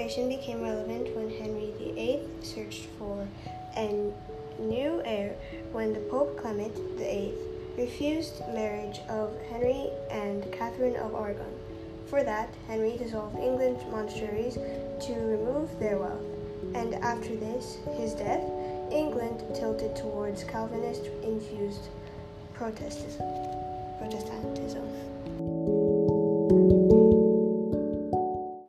situation became relevant when Henry VIII searched for a new heir when the Pope Clement VIII refused marriage of Henry and Catherine of Aragon. For that, Henry dissolved England's monasteries to remove their wealth, and after this, his death, England tilted towards Calvinist-infused Protestantism.